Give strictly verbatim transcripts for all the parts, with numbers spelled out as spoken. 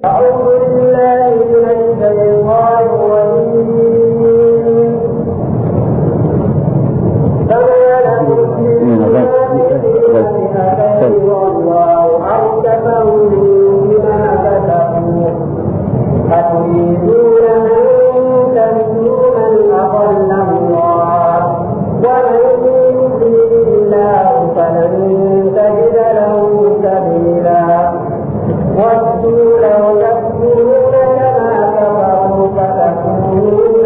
أعوذ بالله من الشيطان الرجيم. فما لكم في المنافقين والله أركفهم بما كسبوا أتريدون أن تهدوا من أضل الله ومن يضلل الله فلن تجد له سبيلا ودوا لو تكفرون كما كفروا فتكونون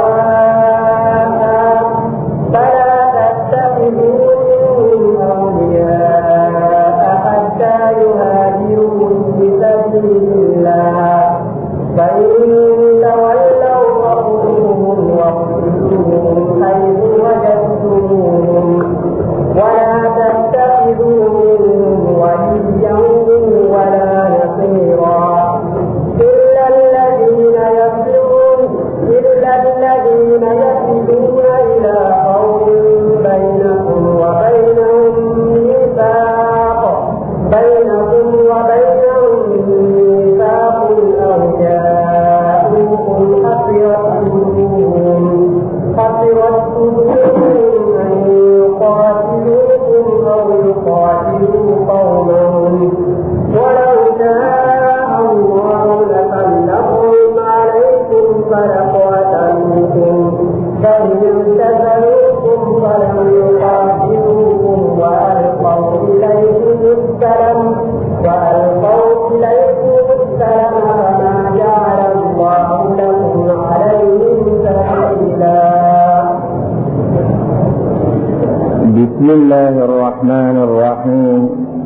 سواء فلا تتخذوا منهم أولياء حتى يهاجروا في سبيل الله فإن تولوا فخذوهم واقتلوهم حيث وجدتموهم ولا تتخذوا منهم وليا ولا نصيرا إلا الذين يصلون إلا الذين يصلون إلى قوم بينكم وبينهم ميثاق بينكم وبينهم ميثاق أو جاءوكم حصرت صدورهم حصرت صدورهم أن يقاتلوكم أو يقاتلوا قومهم ولو شاء الله لسلطهم عليكم فلقاتلوكم فإن اعتزلوكم فلم يقاتلوكم وألقوا إليكم السلم وألقوا إليكم السلم فما جعل الله لكم عليهم سبيلا. بسم الله الرحمن الرحيم.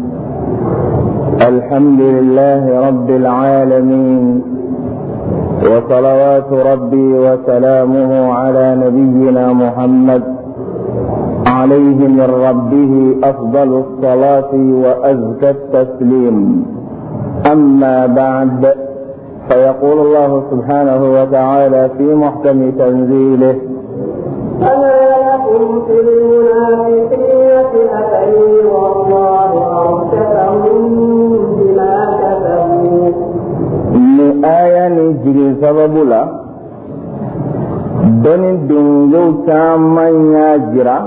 الحمد لله رب العالمين وصلوات ربي وسلامه على نبينا محمد عليه من ربه أفضل الصلاة وأزكى التسليم. أما بعد، فيقول الله سبحانه وتعالى في محكم تنزيله: فما لكم في المنافقين فئتين والله أركسهم بما كسبوا. ni aya ni jigin sababu la doni dungow caman y'a jira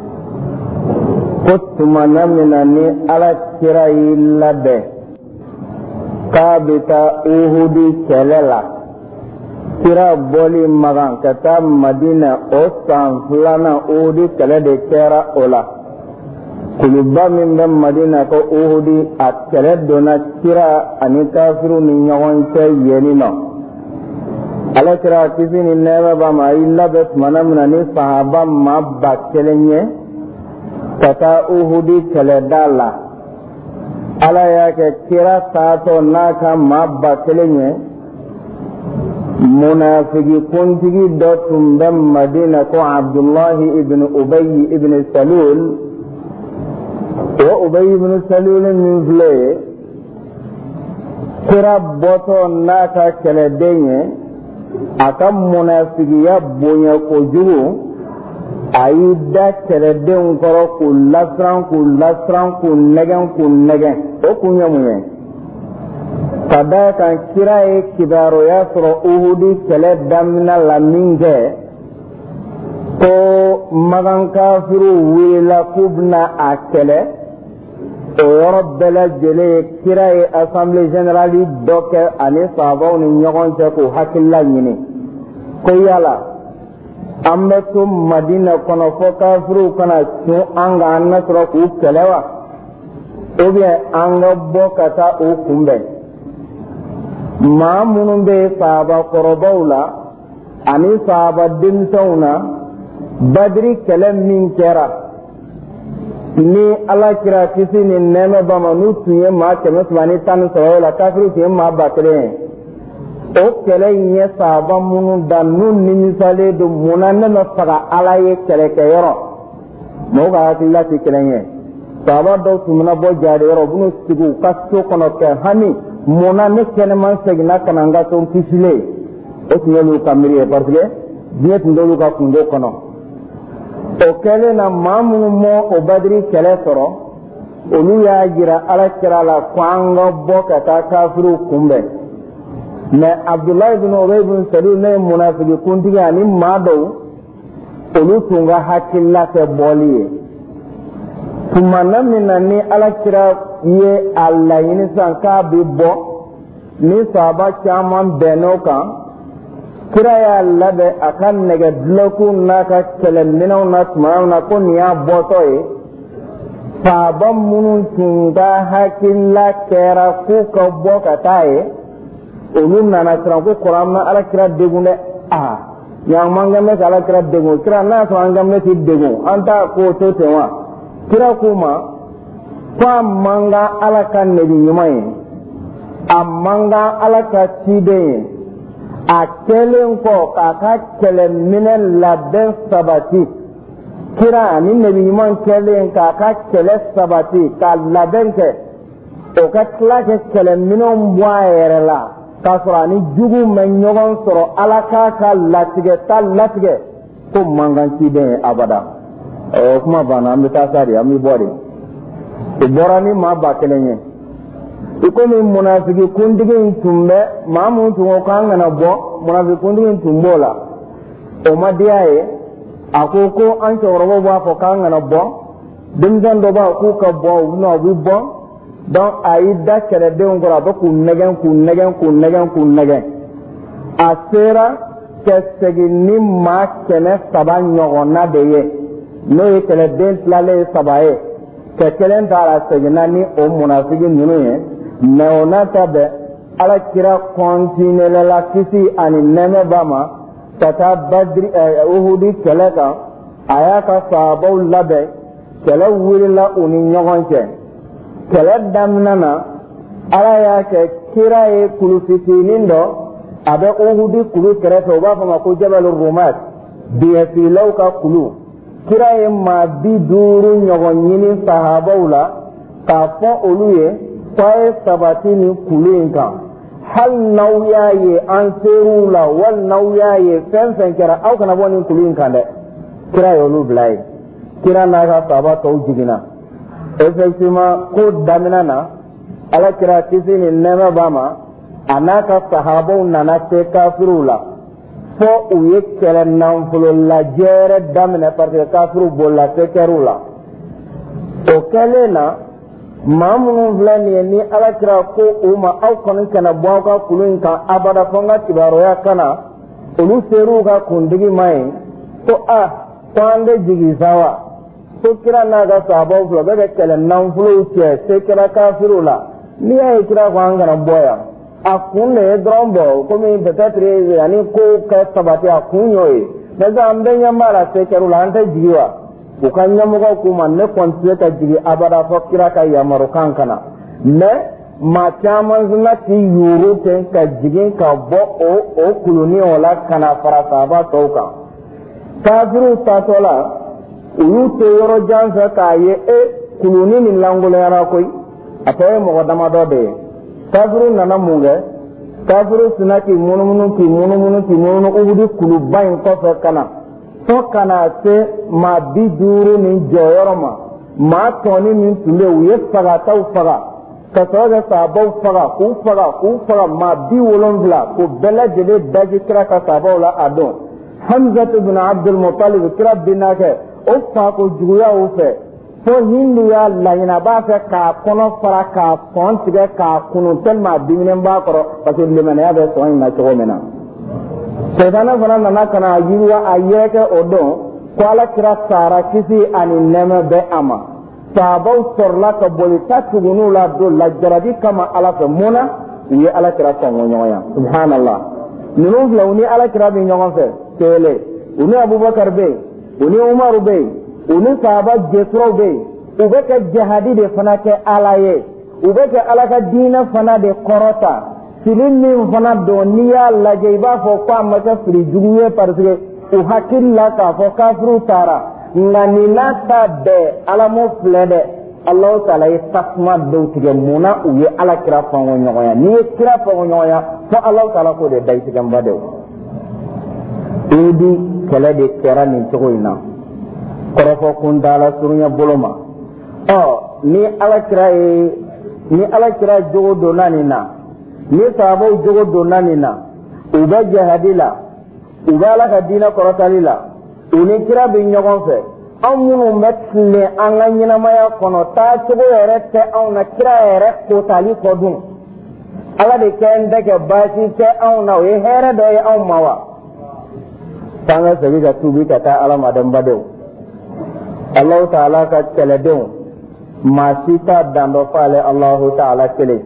ko tumana mina ni ala kira y'i labɛn k'a bɛ taa uhudi kɛlɛ la. kira bɔli magan ka taa madina o san filanan uhudi kɛlɛ de kɛra o la. kuluba min bɛ madina ko uhudi a kɛlɛ donna kira ani kafiru ni ɲɔgɔn cɛ yeni nɔ. ala kira kisi ni nɛɛmɛ b'a ma a y'i labɛn tumana min na ni sahaba ma ba kelen ye ka taa uhudi kɛlɛda la. ala y'a kɛ kira taatɔ n'a ka maa ba kelen ye munafigi kuntigi dɔ tun bɛ madina ko abdullahi ibn ubayi ibn salul. o ubayi ibn salul min filɛ ye kira bɔtɔ n'a ka kɛlɛden ye a ka munafigiya bonya kojugu a y'i da kɛlɛdenw kɔrɔ k'u lasiran k'u lasiran k'u nɛgɛn k'u nɛgɛn. o kun ye mun ye? ka da kan kira ye kibaruya sɔrɔ uhudi kɛlɛ daminɛ la min kɛ ko magan kafiru wulila k'u bɛna a kɛlɛ. o yɔrɔ bɛɛ lajɛlen ye kira ye assemblée générale dɔ kɛ ani sahabaw ni ɲɔgɔn cɛ k'u hakilila ɲini ko yala an bɛ to madina kɔnɔ fɔ kafiruw kana cun an kan an na sɔrɔ k'u kɛlɛ wa ou bien an ka bɔ ka taa u kunbɛn. maa minnu bɛ sahaba kɔrɔbaw la ani sahaba denmisɛnw na badiri kɛlɛ min kɛra ni ala kira kisi ni nɛɛmɛ ba ma n'u tun ye maa kɛmɛ saba ni tan ni saba la kafiru tun ye maa ba kelen ye. o kɛlɛ in ye sahaba minnu da n'u nimisalen don munna ne ma faga ala ye kɛlɛkɛyɔrɔ. mɔgɔw ka hakilila tɛ kelen ye. sahaba dɔw tun bɛna bɔ jaadiyɔrɔ u bɛn'u sigi u ka so kɔnɔ kɛ hami munna ne kɛnɛman seginna ka na n ka so n kisilen. o tun y'olu ka miiri ye parce que diɲɛ tun t'olu ka kungo kɔnɔ. o kɛlen na maa minnu mɔ o badiri kɛlɛ sɔrɔ olu y'a jira ala kira la ko an ka bɔ ka taa kafiru kunbɛn. mais Abdullah ibn Ubay ibn Salul ne munafiki kuntigi ani maa dɔw olu tun ka hakilila kɛ bɔli ye tuma na min na ni alakira ye a laɲini sisan k'a bɛ bɔ ni sahaba caman bɛnn'o kan kira y'a labɛn a ka nɛgɛdilanku n'a ka kɛlɛminɛnw na tuma na ko nin y'a bɔtɔ ye sahaba minnu tun ka hakilila kɛra k'u ka bɔ ka taa ye olu nana siran ko kuran na alakira degun dɛ aa yan man kan bɛ ka alakira degun kira n'a sɔrɔ an kan bɛ ti degun an t'a ko to ten wa kira k'u ma ko a man kan ala ka nabi ɲuman ye a man kan ala ka ciden ye a kɛlen kɔ k'a ka kɛlɛminɛ labɛn sabati kira ani nabi ɲuman kɛlen k'a ka kɛlɛ sabati ka labɛn kɛ o ka tila kɛ kɛlɛminɛw bɔ a yɛrɛ la k'a sɔrɔ ani jugu mɛ ɲɔgɔn sɔrɔ ala k'a ka latigɛ ta latigɛ ko mankan ciden ye abada o kuma banna an bɛ taa sa de an bɛ bɔ de o bɔra ni maa ba kelen ye i komi munafiki kuntigi in tun bɛ maa min tun ko k'an kana bɔ munafiki kuntigi in tun b'o la o ma diya ye a ko ko an cɛkɔrɔbaw b'a fɔ k'an kana bɔ denmisɛn dɔ b'a k'u ka bɔ u bɛna u bɛ bɔ donc a y'i da kɛlɛdenw kɔrɔ a bɛ k'u nɛgɛn k'u nɛgɛn k'u nɛgɛn k'u nɛgɛn a sera ka segin ni maa kɛmɛ saba ɲɔgɔnna de ye n'o ye kɛlɛden tilalen ye saba ye ka kelen ta la seginna ni o munafiki ninnu ye mais o n'a ta bɛɛ alakira continuera la kisi ani nɛɛmɛ b'a ma ka taa badiri uhudi kɛlɛ kan a y'a ka sahabaw labɛn kɛlɛ wulila u ni ɲɔgɔn cɛ kɛlɛ daminɛ na ala y'a kɛ kira ye kulu fitinin dɔ a bɛ uhudi kulu kɛrɛfɛ u b'a fɔ ma ko jabal rumat biɲɛfilaw ka kulu kira ye maa bi duuru ɲɔgɔn ɲini sahabaw la k'a fɔ olu ye k'a ye sabati ni kulu in kan hali n'aw y'a ye an ser'u la wali n'aw y'a ye fɛn fɛn kɛra aw kana bɔ nin kulu in kan dɛ kira ye olu bila ye kira n'a ka sahaba tɔw jiginna effectivement ko daminɛ na ala kira kisi ni nɛɛmɛ b'a ma a n'a ka sahabaw nana se kafiriw la fo u ye kɛlɛ nafolo lajɛ daminɛ parce que kafiriw bolila sekɛriw la o kɛlen na maa minnu filɛ nin ye ni ala kira ko u ma aw kɔni kana bɔ aw ka kulu in kan abada fo n ka kibaruya ka na olu ser'u ka kuntigi ma ye ko a ko an tɛ jigin sa wa ko kira n'a ka sahabaw fila bɛɛ bɛ kɛlɛ nafolow cɛ sekɛra kafiriw la n'i y'a ye kira ko an kana bɔ yan a kun de ye dɔrɔn bɔ komi peut-être ani ko kɛ sabati a kun y'o ye mais an bɛɛ ɲɛ b'a la sekɛriw la an tɛ jigin wa u ka ɲɛmɔgɔw k'u ma ne kɔni tɛ ka jigin abada fɔ kira ka yamaru kan kana mais maa caman fana k'i yuuru ten ka jigin ka bɔ o o kuluni o la kana fara sahaba tɔw kan kafiriw taatɔ la u y'u to yɔrɔ jan fɛ k'a ye e kuluni nin langoloyara koyi a tɔ ye mɔgɔ damadɔ de ye kafiriw nana mun kɛ kafiriw sina k'i munumunu k'i munumunu k'i munumunu uhudi kuluba in kɔfɛ ka na fo ka na se maa bi duuru ni jɔyɔrɔ ma maa tɔni min tun bɛ yen u ye fagataw faga ka sɔrɔ kɛ sahabaw faga k'u faga k'u faga maa bi wolonfila k'u bɛɛ lajɛlen daji kira ka sahabaw la a don hamzatu bin abdul mutalib kira binna kɛ o fako juguyaw fɛ fo hindu y'a laɲini a b'a fɛ k'a kɔnɔ fara k'a sɔn tigɛ k'a kunu tellement a diminen b'a kɔrɔ parce que limaniya bɛ sɔn in na cogo min na sɛtana fana nana ka na yiriwa a yɛrɛkɛ o don ko ala kira sara kisi ani nɛɛmɛ bɛ a ma sahabaw sɔrɔla ka boli ta tugunniw la don lajarabi kama ala fɛ mun na u ye ala kira sɔn ko ɲɔgɔn ya subhanallah ninnu filɛ u ni ala kira bɛ ɲɔgɔn fɛ kelen u ni abubakar bɛ yen u ni umaru bɛ yen u ni sahaba jɛturaw bɛ yen u bɛ ka jihadi de fana kɛ ala ye u bɛ ka ala ka diinɛ fana de kɔrɔta fili min fana don n'i y'a lajɛ i b'a fɔ ko a ma kɛ fili jugu ye parce que u hakili la k'a fɔ kafiriw taara nka nin n'a ta bɛɛ ala m'o filɛ dɛ alahu taala ye tasuma dɔw tigɛ mun na u ye ala kira fɔn ko ɲɔgɔnya n'i ye kira fɔn ko ɲɔgɔnya fo alahu taala k'o de da i tigɛnba de o idi kɛlɛ de kɛra nin cogo in na kɔrɔfɔ kun taala surunya bolo ma ɔ ni ala kira ye ni ala kira jogo donna nin na ni sahabaw jogo donna nin na u bɛ jihadi la u bɛ ala ka diinɛ kɔrɔtali la u ni kira bɛ ɲɔgɔn fɛ anw minnu bɛ tilen an ka ɲɛnamaya kɔnɔ taacogo yɛrɛ tɛ anw na kira yɛrɛ kotali kɔ dun ala de kɛ n tɛ kɛ baasi tɛ anw na o ye hɛrɛ dɔ ye anw ma wa k'an ka segin ka tuubi ka taa ala ma dɛnbadenw alahu taala ka kɛlɛdenw maa si t'a dan dɔ fɔ ale alahu taala kelen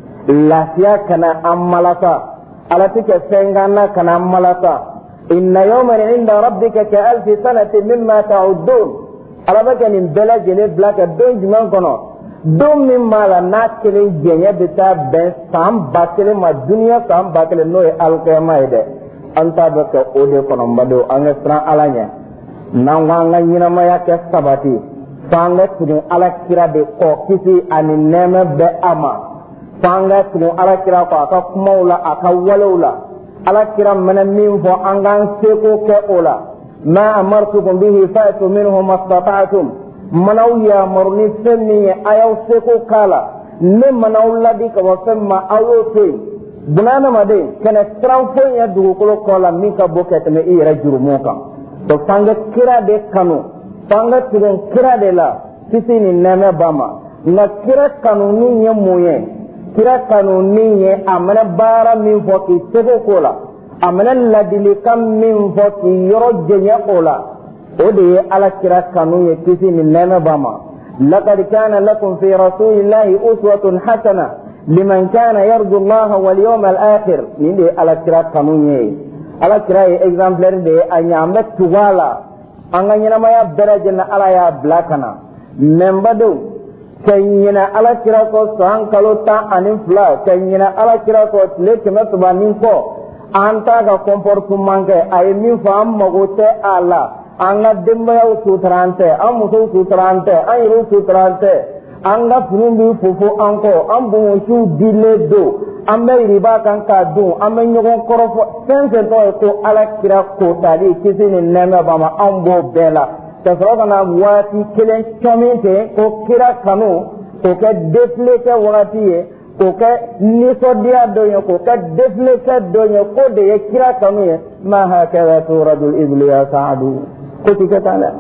lafiya kana an malasa ala tɛ kɛ fɛn kan na kana an malasa inna yawman inda rabbika ka alfi sanatin mimma ta'uddun ala bɛ kɛ nin bɛɛ lajɛlen bila ka don jumɛn kɔnɔ don min b'a la n'a kelen jɛɲɛ bɛ taa bɛn san ba kelen ma duniya san ba kelen n'o ye alikiyama ye dɛ an t'a bɛ kɛ o de kɔnɔ n badenw an ka siran ala ɲɛ n'an ko an ka ɲɛnamaya kɛ sabati f'an ka tugu ala kira de kɔ kisi ani nɛɛmɛ bɛ a ma f'an ka tugu ala kira kɔ a ka kumaw la a ka walew la ala kira mana min fɔ an k'an seko kɛ o la ma amartukum bihi fa'tu minhu mastata'tum manaw yamaru ni fɛn min ye a y'aw seko k'a la ne manaw ladi ka bɔ fɛn ma aw y'o to yen bunadamaden kɛnɛ siran foyi ye dugukolo kɔ la min ka bon ka tɛmɛ i yɛrɛ jurumu kan to f'an ka kira de kanu f'an ka tugu kira de la kisi ni nɛɛmɛ b'a ma nka kira kanuni ye mun ye kira kanuni ye a mana baara min fɔ k'i seko k'o la a mana ladilikan min fɔ k'i yɔrɔ jɛɲɛ o la o de ye ala kira kanu ye kisi ni nɛɛmɛ b'a ma laqad kana lakum fi rasulillahi uswatun hasana liman kana yarju allaha wal yawmal akhir nin de ye ala kira kanu ye ala kira ye exemplaire de ye a ɲɛ an bɛ tugu a la an ka ɲɛnamaya bɛɛ lajɛlen ala y'a bila ka na mɛ n badenw ka ɲinɛ ala kira kɔ san kalo tan ani fila ka ɲinɛ ala kira kɔ tile kɛmɛ saba ni kɔ an t'a ka comportement kɛ a ye min fɔ an mago tɛ a la an ka denbayaw sutura an tɛ an musow sutura an tɛ an yɛrɛw sutura an tɛ an ka finiw bɛ fofo an kɔ an bonbonsiw dilen don an bɛ riba kan k'a dun an bɛ ɲɔgɔn kɔrɔfɔ fɛn fɛn tɔgɔ ye ko ala kira kotali kisi ni nɛɛmɛ b'a ma an b'o bɛɛ la ka sɔrɔ ka na waati kelen cɔmin ten ko kira kanu k'o kɛ defile kɛ wagati ye k'o kɛ nisɔndiya dɔ ye k'o kɛ defile kɛ dɔ ye k'o de ye kira kanu ye ma hakɛra turadul ibli ya saadu ko ti kɛ tan dɛ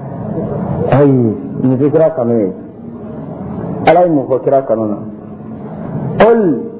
ayi nin tɛ kira kanu ye ala ye mun fɔ kira kanu na qul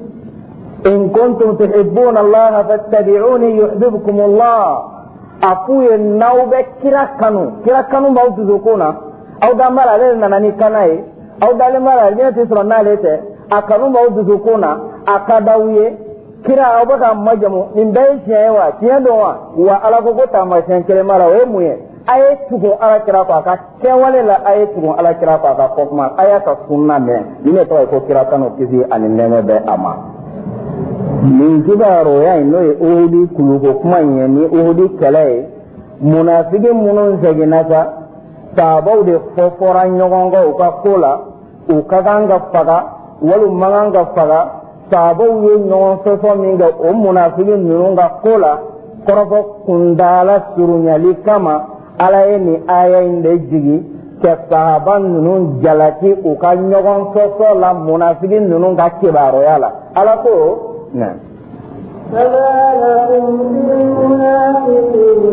in kuntum tuhibbuna allaha fattabi'uni yuhibbukum allah a f'u ye n'aw bɛ kira kanu kira kanu b'aw dusukun na aw danbara ale de nana ni kana ye aw dalen b'a la diɲɛ tɛ sɔrɔ n'ale tɛ a kanu b'aw dusukun na a ka d'aw ye kira aw bɛ ka majamu nin bɛɛ ye tiɲɛ ye wa tiɲɛ don wa wa ala ko ko taamasiyɛn kelen b'a la o ye mun ye a ye tugu ala kira kɔ a ka kɛwale la a ye tugu ala kira kɔ a ka fɔ kuma a y'a ka sunna mɛn nin de tɔgɔ ye ko kira kanu kisi ani nɛɛmɛ bɛ a ma nin kibaruya in n'o ye uhudi kuluko kuma in ye ni uhudi kɛlɛ ye munafiki minnu seginna sa sahabaw de fɔ fɔra ɲɔgɔn kɔ u ka ko la u ka kan ka faga wali man kan ka faga sahabaw ye ɲɔgɔn sɔsɔ min kɛ o munafiki ninnu ka ko la kɔrɔfɔ kuntaala surunyali kama ala ye nin aya in de jigi ka sahaba ninnu jalaki u ka ɲɔgɔn sɔsɔ la munafiki ninnu ka kibaruya la ala ko نعم فما لكم في المنافقين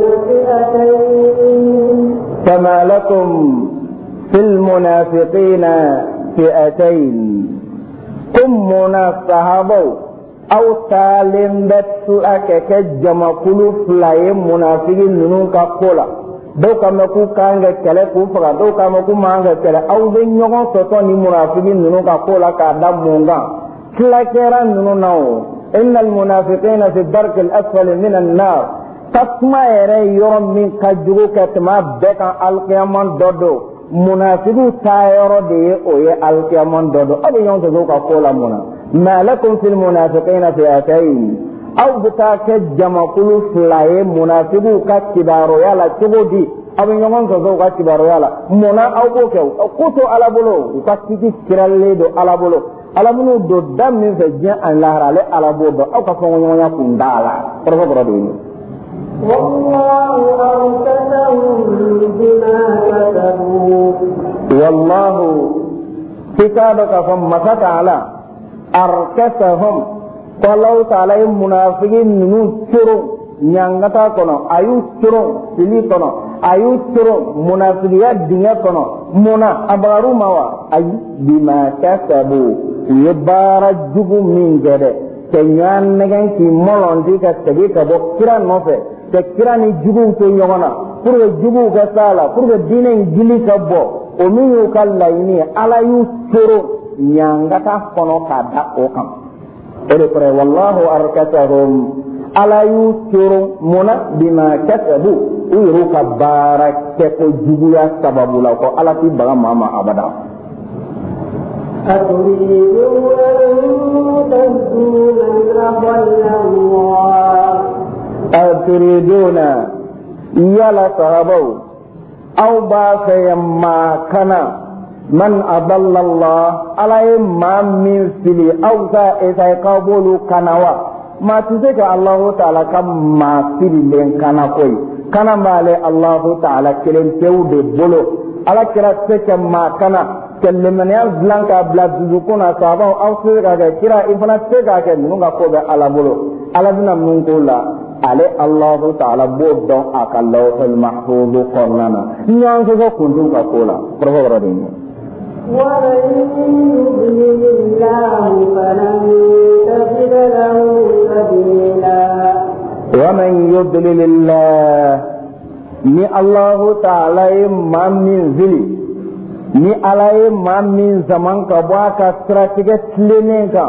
فئتين فما لكم في المنافقين فئتين كم منافقوا أو سالم بتسؤك كجمع كل فلاي منافقين ننوك قولا دو كما كو كانغ كلا كو فغا دو كما كو مانغ كلا أو دي نيوغن سطون منافقين ننوك قولا كادام مونغا كلاكيرا ننو إن المنافقين في الدرك الأسفل من النار تسمع يوم من كجوك كتما بكا القيامان دودو منافقو تايرو دي اوي القيامان دودو أبي يوم تزوك قولا منا ما لكم في المنافقين فئتين أو بتاك جمع كل فلاي منافقو كتبارو يالا تبو دي أبي يوم تزوك كتبارو يالا منا أو بوكو كوتو على بلو وكتبي كرالي دو على بلو alamunu do dam min fe diɲɛ an lahara ale alabo dɔn aw ka fɛn ɲɔgɔnya kun da la kɔrɔfɔ kɔrɔ de ye wallahu fi ka dɔ ka fɔ masa ta'ala arkasahum Allah ta'ala ye munafiqin ninu coro nyangata kono ayu coro sili kono ayu coro munafiqiya dinga kono muna abaru mawa ay bima kasabu yabara jugu min gede kenyan negen ki molondi ka tegi ka bo kira nofe te kira ni jugu to nyogona pour que jugu ka sala pour que dinen gili ka bo o min yu kala ini ala yu coro nyangata kono kada o kam ere pre wallahu arkatahum ala yu coro muna bima kasabu uyu ka barake ko jugu ya sababu la ko ala ti baga mama abada أتريدون أن تهدوا من أضل الله أتريدون يلا صحابو أو باقي ما كان من أضل الله على ما من فيلي أو ذا إذا يقبل كنوا ما تزكى الله تعالى كم ما فيلي لين كان كوي كان ما الله تعالى كلم تود بلو على كرا تزكى ما كان كلمنيا بلانكا بلا دزوكونا صابو أو سيغا كرا إفنا سيغا كنونغا كوبا على بلو على بنا منقولا على الله تعالى بودو أكالله المحفوظ قرنانا نيانسو كنتم كولا پرفو ردين ومن يضلل الله فلن تجد له سبيلا ومن يضلل الله ni Allah ta'ala ma min zili ni alaye ma min zaman ka bo aka strategie tlene ka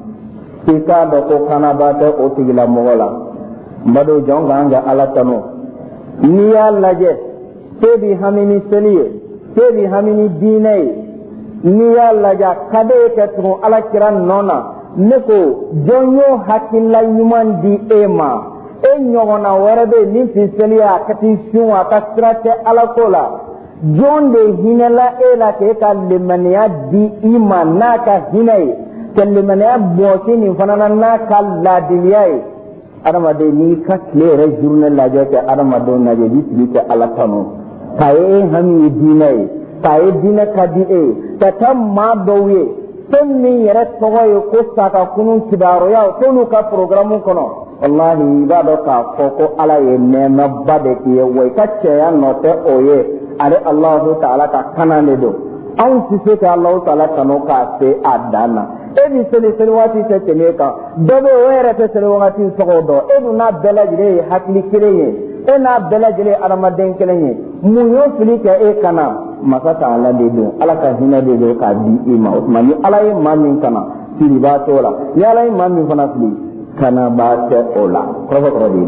tika do ko kana ba ta o tigila mogola mbado jonga anga ala tano ni ya laje tebi hamini seliye tebi hamini dinai ni ya laja kade ke tu ala kiran nona neko jonyo hakilla nyuman di ema e nyogona werebe ni fiseliya kati shuwa ka strategie ala kola jonde hinela ela ke ka lemaniya di iman naka hinai ke lemaniya bosi ni fanana naka ladiliyai adama de ni ka klere journal la joke adama do na je bi ke ala tanu taye hami dinai taye dina kadi e tatam ma dowe tenni yere togoy ko saka kunun kibaro ya tonu ka programu kono wallahi ibado ka foko ala ye nema bade ki we ka cheya note oye ale Allah ta'ala ka kanane do an sise ka Allah ta'ala kanu ka se adana e bi sele sele wati se temeka dobe were te sele wati sogodo e du na belajire hakli kireye e na belajire aramaden kelenye munyo filika e kana masa ta'ala de do ala ka hina de do ka di ima usmani ala e mamin kana siriba tola ya ala e mamin fana fili kana ba te ola provo provi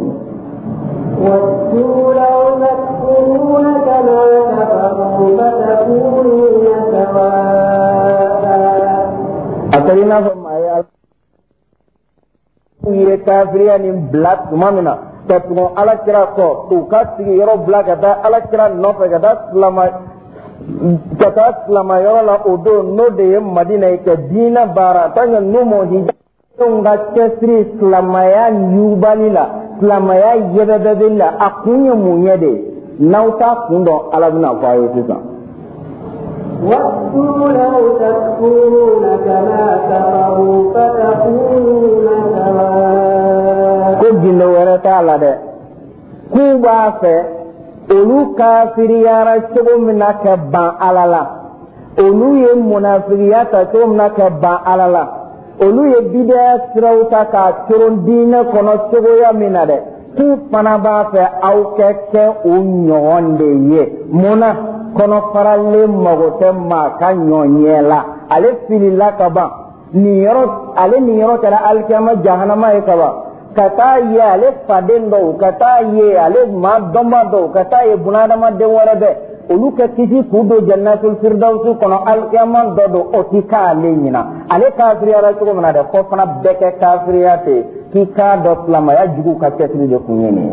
وَاتُّوا لَوْ تَكْفُرُونَ كَمَا كَفَرُوا فَتَكُونُونَ سَوَاءً أترينا فما يا يرى كافرين بلاك مامنا تكون على كرا كو توكاتي يرو بلاك هذا على كرا نوف هذا سلام كذا سلام يرو لا أودو نودي مدينة كدينا بارا تاني نومو هيدا تونغا كسري سلام يا نيوباليلا سلامايا يبدأ أكوني مونيدي ناوتا كوندو على بنا فايسيسا وَاتُّوا لَوْ تَكْفُرُونَ كَمَا كَفَرُوا فَتَكُونُونَ سَوَاءً كوجينو ورتا على ده كوبا في أولو كافريارا شبو منك بان على لا أولو يمنافرياتا شبو منك بان على لا olu ye bidaya siraw ta ka coron diinɛ kɔnɔ cogoya min na dɛ k'u fana b'a fɛ aw kɛ kɛ o ɲɔgɔn de ye munna kɔnɔfaralen mago tɛ maa ka ɲɔɲɛ la ale filila ka ban nin yɔrɔ ale nin yɔrɔ kɛra alikiyama jahanama ye ka ban ka taa ye ale faden dɔw ka taa ye ale maa dɔnba dɔw ka taa ye bunadamaden wɛrɛ bɛɛ olu ka kisi k'u don jannatul firdausi kɔnɔ alikiyama dɔ don o ti k'ale ɲina ale kafiriyara cogo min na dɛ fɔ fana bɛɛ kɛ kafiriya ten k'i k'a dɔn silamaya jugu ka cɛsiri de kun ye nin ye.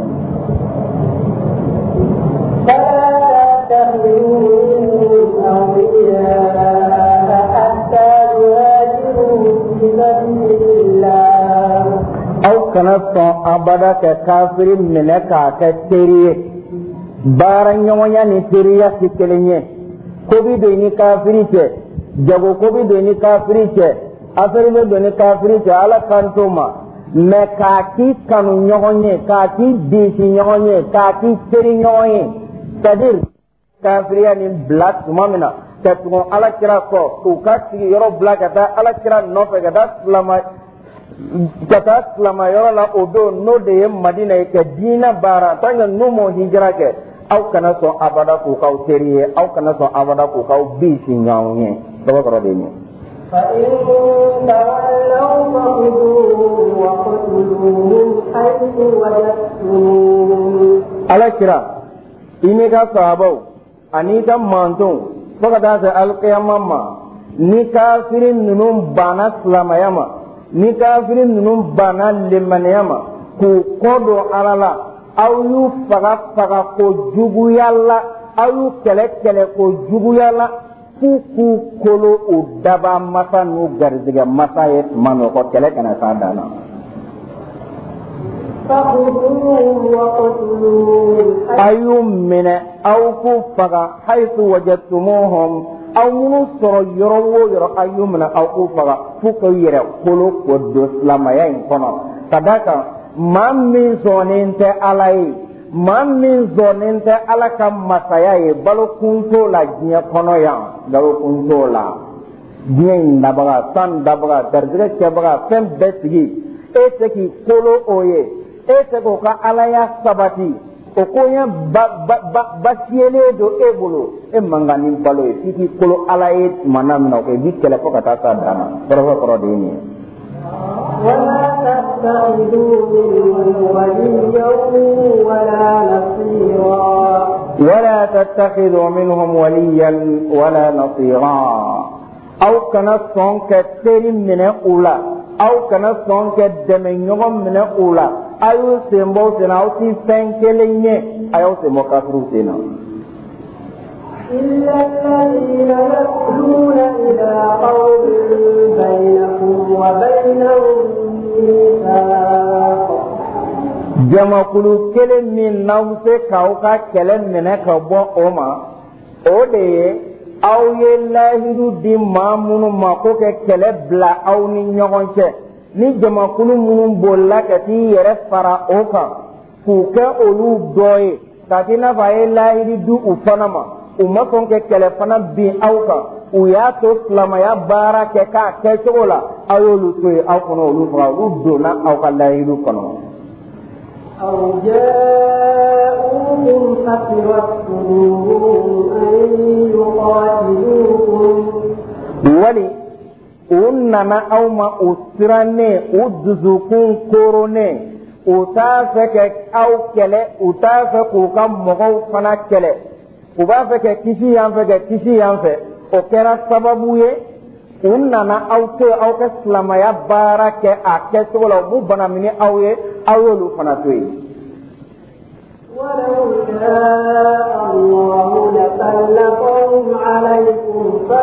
aw kana sɔn abada ka kafiri minɛ k'a kɛ teri ye. baara ɲɔgɔnya ni teriya si kelen ye ko bi don ni kafiri cɛ jago ko bi don ni kafiri cɛ affaire be doni kafiri ta ala kanto ma me ka ki kanu nyogonye ka ki disi nyogonye ka ki teri nyogonye c'est-à-dire kafiriya ni black mamina ta tugon ala kira ko ku ka sigi yoro black ta ala kira no fe ga slama kata slama yoro la odo no de madina ke dina bara tanga numo hijra ke au kana so abada ku ka teri au kana so abada ku ka bisi nyogonye do ko de ni فإن تولوا فخذوهم وقتلوهم حيث وجدتموهم. على كرا إنك صحابو أنيك مانتون فقط القيامة ما نكافرين ننوم بانا سلama yama nikafirin nunum bana lemane yama ku kodo alala aw yu faga faga ko jugu yalla aw yu kele kele ko jugu yalla ku kolo o daba masa nu garziga masa ye mano ko kele kana sadana ayum min aw ku faga haythu wajadtumuhum aw munu soro yoro wo yoro ayum min aw ku faga fu ko yere kolo ko do islamaya in kono sadaka man min zoninte alai man min zoninte alaka masaya ye balo kunto la jinya kono ya balo kunto la jinya dabaga san dabaga darjere kebaga fem besigi eteki kolo oye eteko ka alaya sabati o konya ba ba basiele do ebolo e mangani balo e tiki kolo alaye manam na ko bi kele ko kata sa dana koro koro de ni ولا تتخذوا منهم وليا ولا نصيرا ولا تتخذوا منهم وليا ولا نصيرا أو كان صنك تري من أولى أو كان صنك دمنيهم من أولى أيو سيمبو سنا أو سيفن كليني أيو سيمبو كافرو سنا إلا الذين يأكلون إلى قوم بينكم وبينهم ميثاق jama kulu kelen min n'aw se k'aw ka kɛlɛ minɛ ka bɔ o ma o de ye aw ye lahidu di maa minnu ma ko kɛ kɛlɛ bila aw ni ɲɔgɔn cɛ ni jamakulu minnu bolila ka t'i yɛrɛ fara o kan k'u kɛ olu dɔ ye ka k'i n'a fɔ a ye lahidu di u fana ma u ma sɔn ka kɛlɛ fana bin aw kan u y'a to silamɛya baara kɛ k'a kɛcogo la aw y'olu to yen aw kɔnɔ olu faga olu donna aw ka lahidu kɔnɔ. أو جاءوكم حسرت صدورهم أن يقاتلوكم wali u nana aw ma u sirannen u dusukun koronnen u t'a fɛ ka aw kɛlɛ u t'a fɛ k'u ka mɔgɔw fana kɛlɛ u b'a fɛ ka kisi yan fɛ ka kisi yan fɛ o kɛra sababu ye u nana aw to aw ka silamɛya baara kɛ a kɛcogo la u b'u bana minɛ aw ye aw y'olu fana to yen. ولو شاء الله لسلطهم عليكم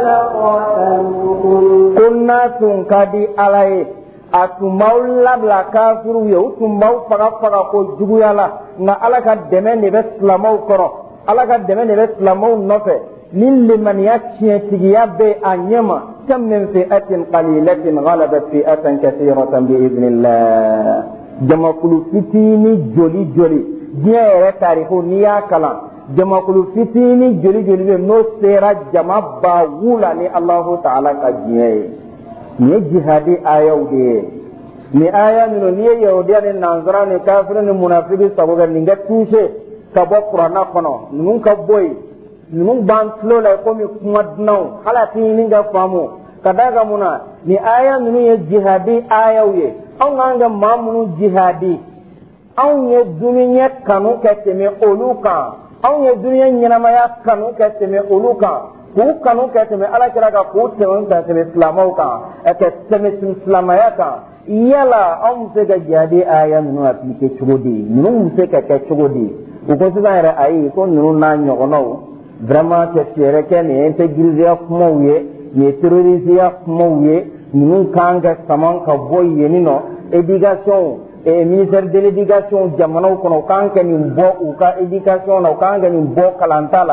فلقاتلوكم كنا تنكدي عليه a tun b'aw labila kafiru ye u tun b'aw faga faga ko juguya la nka ala ka dɛmɛ de bɛ silamɛw kɔrɔ ala ka dɛmɛ de bɛ silamɛw nɔfɛ ni limaniya tiɲɛtigiya bɛ a ɲɛma kam min fi'atin qalilatin ghalabat fi'atan kathiratan bi'idhnillah jamakulu fitini joli joli diɲɛ yɛrɛ taariko n'i y'a kalan jamakulu fitini joli joli bɛ n'o sera jama ba wula ni Allahu ta'ala ka diɲɛ ye ni jihadi ayaw de ye ni aya minnu n'i ye yahudiya ni nansara ni kafiri ni munafiki sago kɛ nin ka touché ka bɔ kuranna kɔnɔ ninnu ka bɔ yen ninnu b'an tulo la komi kuma dunanw hali a tɛ ɲini ka faamu ka d'a kan mun na ni aya ninnu ye jihadi ayaw ye anw k'an kɛ maa minnu jihadi anw ye dunuya kanu kɛ tɛmɛ olu kan anw ye dunuya ɲɛnamaya kanu kɛ tɛmɛ olu kan k'u kanu kɛ tɛmɛ alakira kan k'u tɛmɛ ka tɛmɛ silamɛw kan ka tɛmɛ silamɛya kan yala anw bɛ se ka jihadi aya ninnu appliquer cogo di ninnu bɛ se ka kɛ cogo di u ko sisan yɛrɛ ayi ko ninnu n'a ɲɔgɔnnaw vraiment ka fɛɛrɛ kɛ nin ye intégrité kumaw ye nin ye terrorisme kumaw ye ninnu kan ka sama ka bɔ yen nɔ éducation et ministère de l'éducation jamanaw kɔnɔ u kan ka nin bɔ u ka éducation na u kan ka nin bɔ kalanta la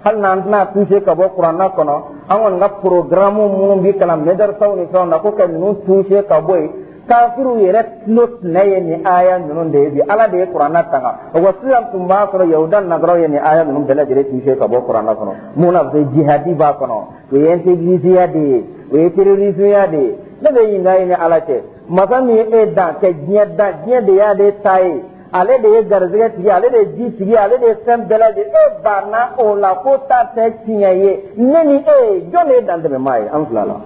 hal nan na touché ka bo qur'ana kono amon nga programme mu bi kala medar sawni sawna ko kan nu touché ka boy kafiru yere not naye ni aya nunun de bi ala de qur'ana tanga wasiyam tumba ko yaudan nagro ye ni aya nunun bela jere touché ka bo qur'ana kono muna be jihadi ba kono we yente gisiya de we terrorisme ya de ne be yinga ni ala te masami e da ke jieda jiede ya de tai ale de garzega tigi ale de ji tigi ale de sem bela de e bana o la ko ta te tiyaye neni e jone dan de mai am flala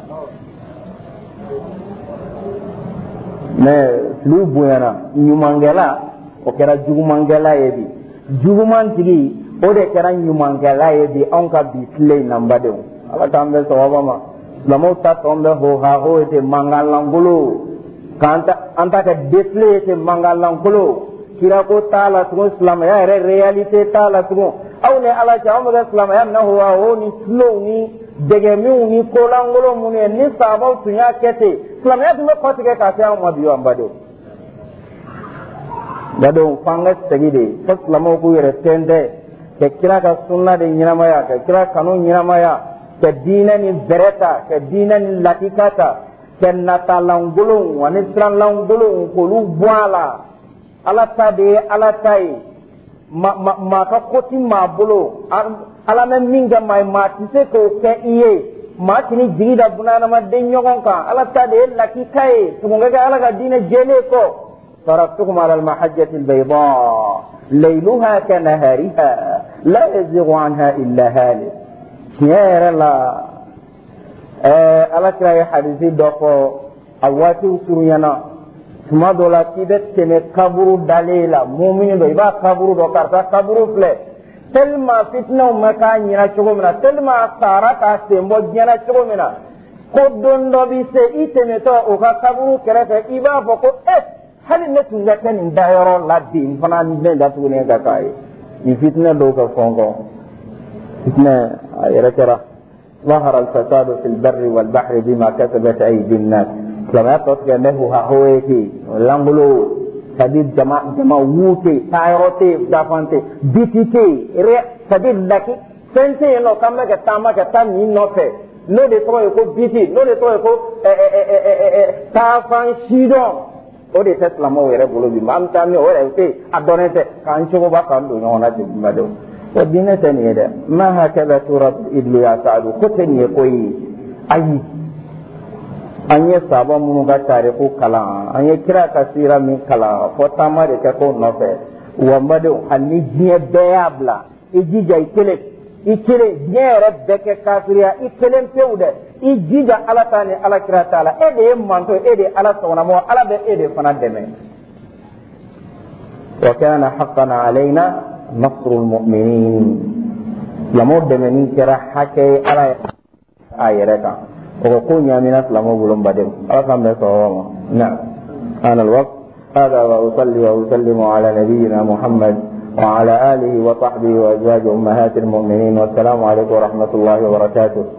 ne lu buyana nyumangela o kera jugumangela yebi juguman tigi o de kera nyumangela yebi on ka bisley nambade ala tambe sawaba ma lamo ta tombe ho ha ho ete mangalangolo kanta anta ka bisley ete mangalangolo kira ko taala tugo islam ya re realite taala tugo aw ne ala ja o islam ya na huwa o ni slow ni dege mi ni ko langolo mune ni sabo tunya kete islam ya dum ko tige ka ta mo biyo ambade dado fanga tegide islam ko yere tende ke kira ka sunna de nyama ya ke kira kanu nyama ya ke dina ni bereta ke dina ni latikata ke nata langolo wani islam langolo ko lu bwala ala ta de ala tai ma ma ma ka koti ma bolo ala men minga mai ma tise ko ke iye ma tini jigida bunana ma de nyogon ka ala ta de laki kai tumunga ga ala ga dina jele ko taraktukum ala al mahajjati al bayda laylaha ka nahariha la yazighu anha illa halik ya la eh ala kira hadisi do ko awati usuruyana tuma dɔ la k'i bɛ tɛmɛ kaburu dalen la mumini dɔ i b'a kaburu dɔ karisa kaburu filɛ tellement fitinaw ma k'a ɲɛna cogo min na tellement a sara k'a sen bɔ diɲɛna cogo min na ko don dɔ bi se i tɛmɛtɔ o ka kaburu kɛrɛfɛ i b'a fɔ ko eh hali ne tun ka kɛ nin dayɔrɔ la bi n fana ne da tuguni ka k'a ye nin fitinɛ dɔw ka fɔn kɔ fitinɛ a yɛrɛ kɛra ظهر الفساد في البر والبحر بما كسبت أيدي الناس kama to ke ne hu ha hoeki langulo tadi jama jama wute tayrote dafante bitite re tadi laki sense no kamma ke tama ke tam ni no fe no de to ko biti no de to ko e e e e ta fan shidon o de tesla mo were bolo bi mam tam ni o re te adonete kan chugo ba kan do no na de mado o dinete ni de ma hakala turab idlu ya sa'du koteni ko yi ayi anye sabo munu ga tare ko kala anye kira kasira min kala fo tama de ko no fe wa madu hanni jiye beabla ijija ikele ikele nyere beke kafiriya ikele peude ijija ala tani ala kira taala e de manto e de ala sona mo ala be e de fana deme wa kana haqqan alaina nasrul mu'minin lamo deme ni kira hake ala ayereka وقول يا من أسلم وبلغم بدم أرقم بصوامه نعم أنا الوقت هذا وأصلي وأسلم على نبينا محمد وعلى آله وصحبه وأزواج أمهات المؤمنين والسلام عليكم ورحمة الله وبركاته